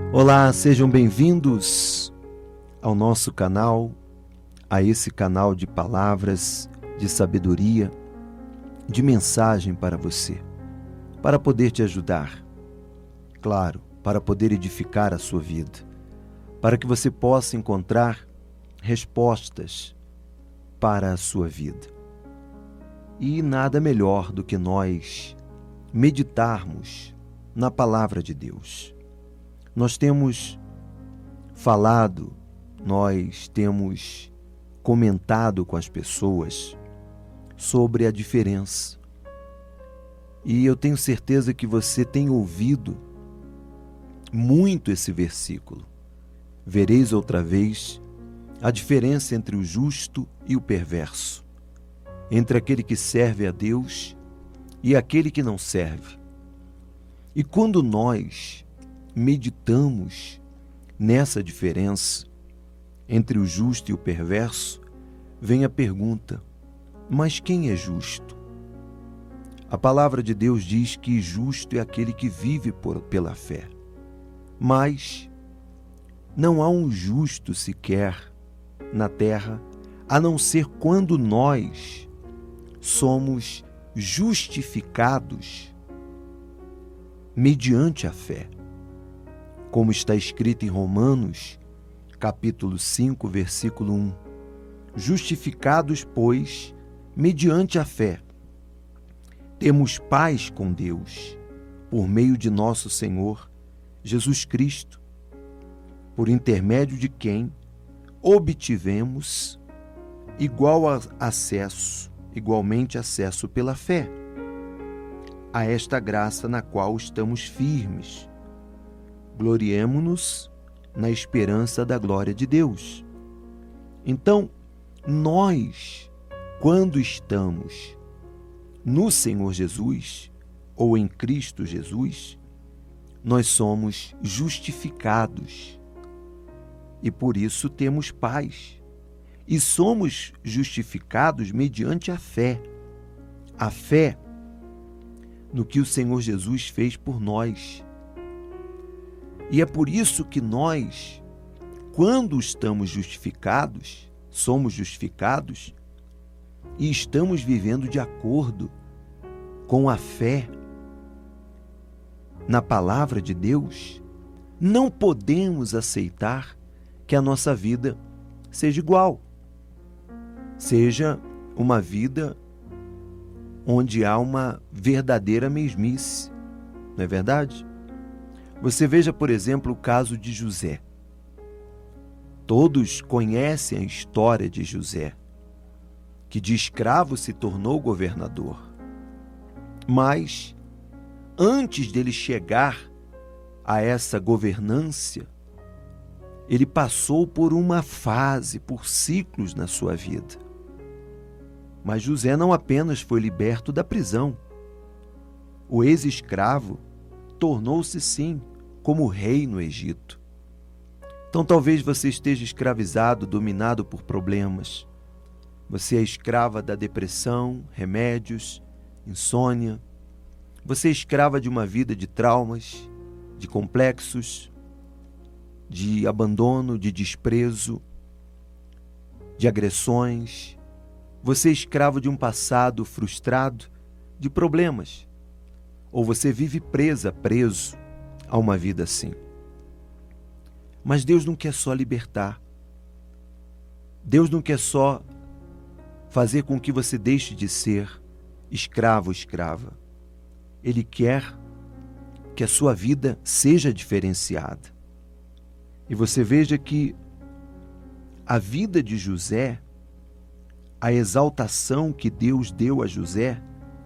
Olá, sejam bem-vindos ao nosso canal, a esse canal de palavras, de sabedoria, de mensagem para você, para poder te ajudar, claro, para poder edificar a sua vida, para que você possa encontrar respostas para a sua vida. E nada melhor do que nós meditarmos na palavra de Deus. Nós temos falado, nós temos comentado com as pessoas sobre a diferença. E eu tenho certeza que você tem ouvido muito esse versículo. Vereis outra vez a diferença entre o justo e o perverso, entre aquele que serve a Deus e aquele que não serve. E quando nós meditamos nessa diferença entre o justo e o perverso, vem a pergunta: mas quem é justo? A palavra de Deus diz que justo é aquele que vive pela fé. Mas não há um justo sequer na terra, a não ser quando nós somos justificados mediante a fé. Como está escrito em Romanos, capítulo 5, versículo 1. Justificados, pois, mediante a fé, temos paz com Deus, por meio de nosso Senhor Jesus Cristo, por intermédio de quem obtivemos igualmente acesso pela fé a esta graça na qual estamos firmes. Gloriemo-nos na esperança da glória de Deus. Então, nós, quando estamos no Senhor Jesus, ou em Cristo Jesus, nós somos justificados. E por isso temos paz. E somos justificados mediante a fé. A fé no que o Senhor Jesus fez por nós. E é por isso que nós, quando estamos justificados, somos justificados e estamos vivendo de acordo com a fé na palavra de Deus, não podemos aceitar que a nossa vida seja igual, seja uma vida onde há uma verdadeira mesmice, não é verdade? Você veja, por exemplo, o caso de José. Todos conhecem a história de José, que de escravo se tornou governador. Mas, antes dele chegar a essa governância, ele passou por uma fase, por ciclos na sua vida. Mas José não apenas foi liberto da prisão. O ex-escravo tornou-se, sim, como rei no Egito. Então talvez você esteja escravizado, dominado por problemas. Você é escrava da depressão, remédios, insônia. Você é escrava de uma vida de traumas, de complexos, de abandono, de desprezo, de agressões. Você é escravo de um passado frustrado, de problemas. Ou você vive preso a uma vida assim. Mas Deus não quer só libertar. Deus não quer só fazer com que você deixe de ser escravo ou escrava. Ele quer que a sua vida seja diferenciada. E você veja que a vida de José, a exaltação que Deus deu a José,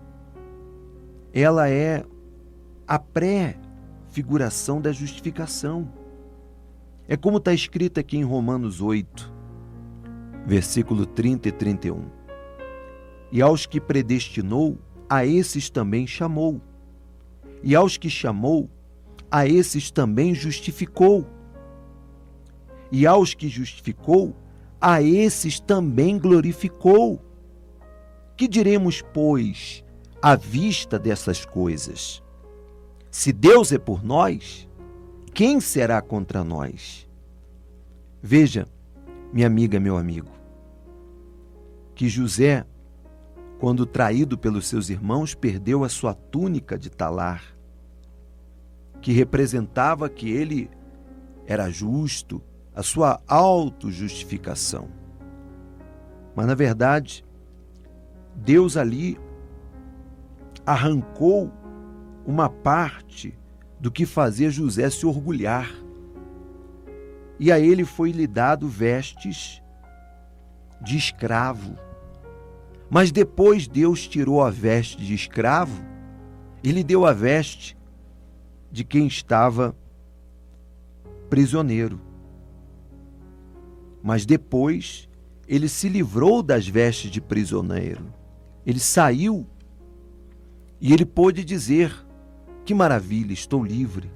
ela é a pré-figuração da justificação. É como está escrito aqui em Romanos 8, versículo 30 e 31. E aos que predestinou, a esses também chamou. E aos que chamou, a esses também justificou. E aos que justificou, a esses também glorificou. Que diremos, pois, à vista dessas coisas? Se Deus é por nós, quem será contra nós? Veja, minha amiga, meu amigo, que José, quando traído pelos seus irmãos, perdeu a sua túnica de talar, que representava que ele era justo, a sua autojustificação. Mas, na verdade, Deus ali arrancou uma parte do que fazia José se orgulhar. E a ele foi lhe dado vestes de escravo. Mas depois Deus tirou a veste de escravo e lhe deu a veste de quem estava prisioneiro. Mas depois ele se livrou das vestes de prisioneiro. Ele saiu e ele pôde dizer: que maravilha, estou livre.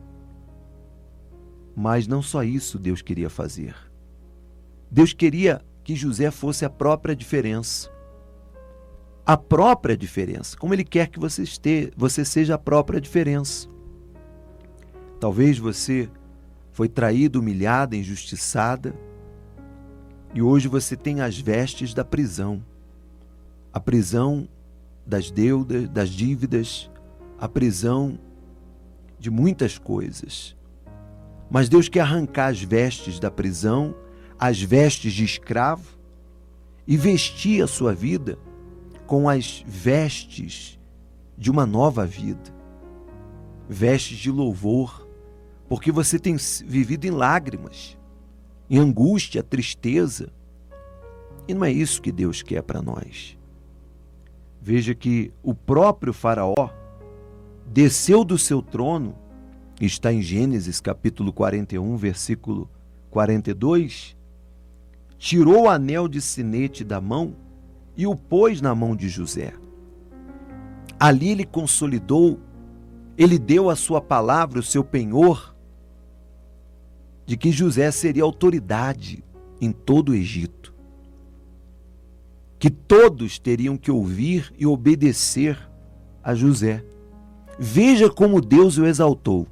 Mas não só isso Deus queria fazer. Deus queria que José fosse a própria diferença. A própria diferença, como Ele quer que você seja a própria diferença. Talvez você foi traída, humilhada, injustiçada, e hoje você tem as vestes da prisão. A prisão das deudas, das dívidas, a prisão de muitas coisas. Mas Deus quer arrancar as vestes da prisão, as vestes de escravo, e vestir a sua vida com as vestes de uma nova vida. Vestes de louvor, porque você tem vivido em lágrimas, em angústia, tristeza. E não é isso que Deus quer para nós. Veja que o próprio Faraó desceu do seu trono, está em Gênesis capítulo 41, versículo 42, tirou o anel de sinete da mão e o pôs na mão de José. Ali ele consolidou, ele deu a sua palavra, o seu penhor, de que José seria autoridade em todo o Egito, que todos teriam que ouvir e obedecer a José. Veja como Deus o exaltou.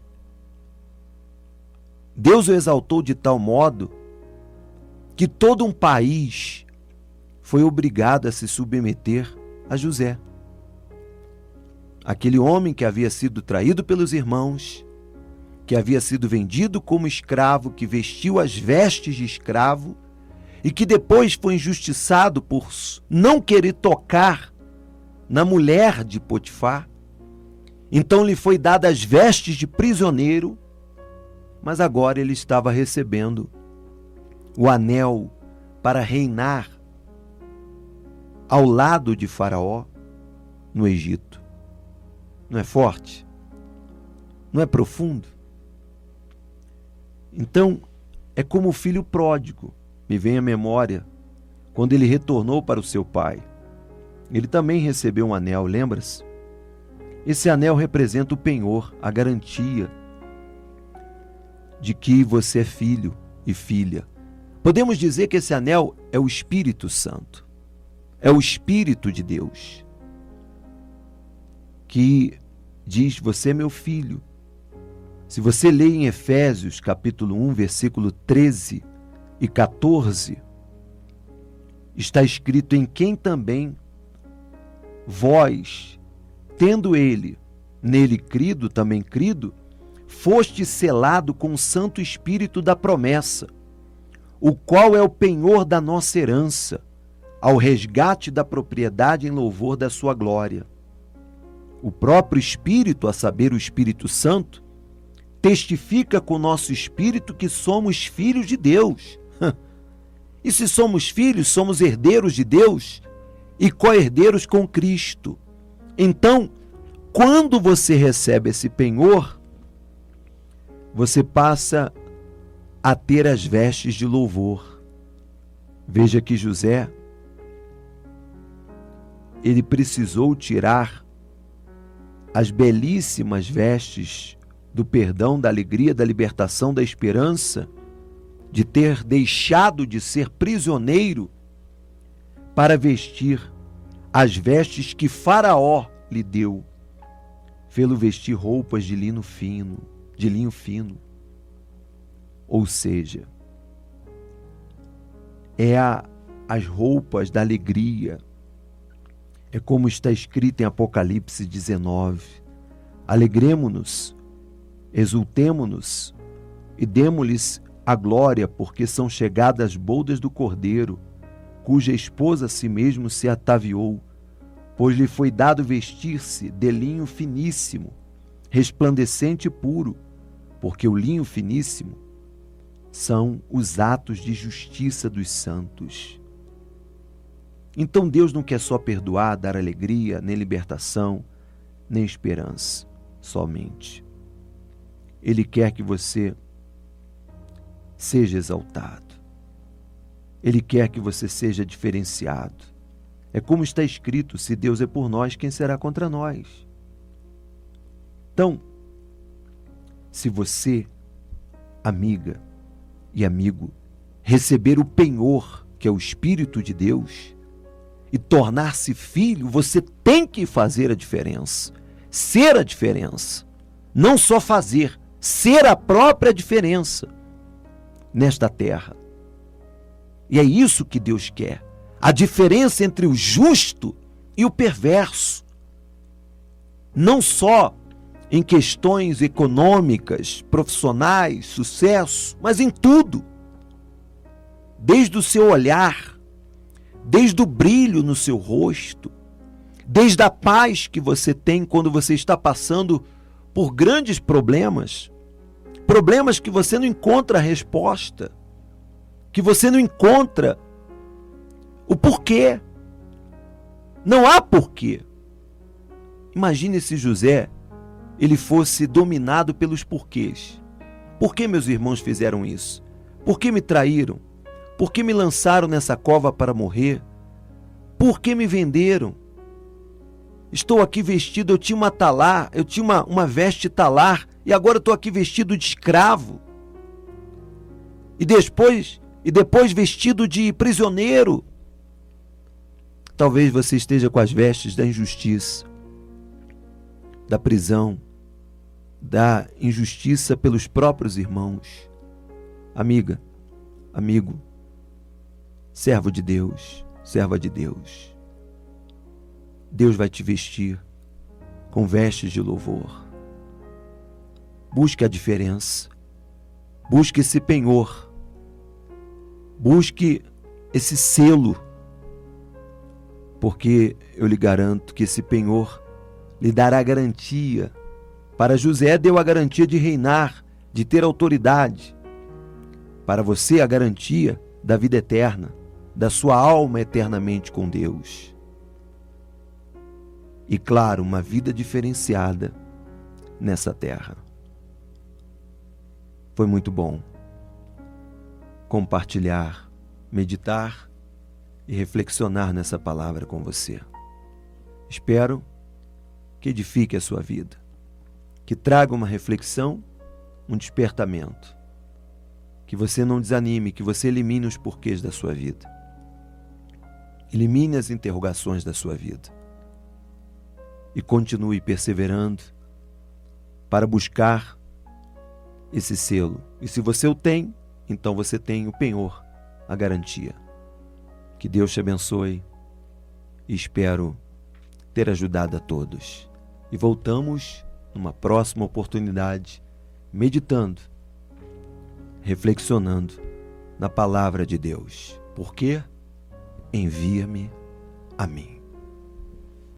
Deus o exaltou de tal modo que todo um país foi obrigado a se submeter a José. Aquele homem que havia sido traído pelos irmãos, que havia sido vendido como escravo, que vestiu as vestes de escravo e que depois foi injustiçado por não querer tocar na mulher de Potifar. Então lhe foi dada as vestes de prisioneiro, mas agora ele estava recebendo o anel para reinar ao lado de Faraó no Egito. Não é forte? Não é profundo? Então, é como o filho pródigo, me vem à memória, quando ele retornou para o seu pai. Ele também recebeu um anel, lembra-se? Esse anel representa o penhor, a garantia de que você é filho e filha. Podemos dizer que esse anel é o Espírito Santo. É o Espírito de Deus que diz: você é meu filho. Se você lê em Efésios capítulo 1, versículo 13 e 14, está escrito: em quem também vós, tendo nele crido, também crido, foste selado com o Santo Espírito da promessa, o qual é o penhor da nossa herança, ao resgate da propriedade em louvor da sua glória. O próprio Espírito, a saber, o Espírito Santo, testifica com o nosso espírito que somos filhos de Deus. E se somos filhos, somos herdeiros de Deus e co-herdeiros com Cristo. Então, quando você recebe esse penhor, você passa a ter as vestes de louvor. Veja que José, ele precisou tirar as belíssimas vestes do perdão, da alegria, da libertação, da esperança, de ter deixado de ser prisioneiro, para vestir as vestes que Faraó lhe deu, fê-lo vestir roupas de linho fino. Ou seja, as roupas da alegria. É como está escrito em Apocalipse 19. Alegremo-nos, exultemo-nos e demo-lhes a glória, porque são chegadas as bodas do Cordeiro, cuja esposa a si mesmo se ataviou, pois lhe foi dado vestir-se de linho finíssimo, resplandecente e puro, porque o linho finíssimo são os atos de justiça dos santos. Então Deus não quer só perdoar, dar alegria, nem libertação, nem esperança, somente. Ele quer que você seja exaltado. Ele quer que você seja diferenciado. É como está escrito: se Deus é por nós, quem será contra nós? Então, se você, amiga e amigo, receber o penhor, que é o Espírito de Deus, e tornar-se filho, você tem que fazer a diferença, ser a diferença. Não só fazer, ser a própria diferença nesta terra. E é isso que Deus quer. A diferença entre o justo e o perverso. Não só em questões econômicas, profissionais, sucesso, mas em tudo. Desde o seu olhar, desde o brilho no seu rosto, desde a paz que você tem quando você está passando por grandes problemas, problemas que você não encontra a resposta, que você não encontra o porquê. Não há porquê. Imagine se José ele fosse dominado pelos porquês. Por que meus irmãos fizeram isso? Por que me traíram? Por que me lançaram nessa cova para morrer? Por que me venderam? Estou aqui vestido, eu tinha uma talar, eu tinha uma veste talar, e agora estou aqui vestido de escravo. E depois vestido de prisioneiro. Talvez você esteja com as vestes da injustiça, da prisão, da injustiça pelos próprios irmãos. Amiga, amigo, servo de Deus, serva de Deus. Deus vai te vestir com vestes de louvor. Busque a diferença. Busque esse penhor. Busque esse selo. Porque eu lhe garanto que esse penhor lhe dará garantia. Para José deu a garantia de reinar, de ter autoridade. Para você a garantia da vida eterna, da sua alma eternamente com Deus. E claro, uma vida diferenciada nessa terra. Foi muito bom compartilhar, meditar e reflexionar nessa palavra com você. Espero que edifique a sua vida, que traga uma reflexão, um despertamento, que você não desanime, que você elimine os porquês da sua vida, elimine as interrogações da sua vida e continue perseverando para buscar esse selo. E se você o tem, então você tem o penhor, a garantia. Que Deus te abençoe e espero ter ajudado a todos. E voltamos numa próxima oportunidade, meditando, reflexionando na palavra de Deus. Porque envia-me a mim.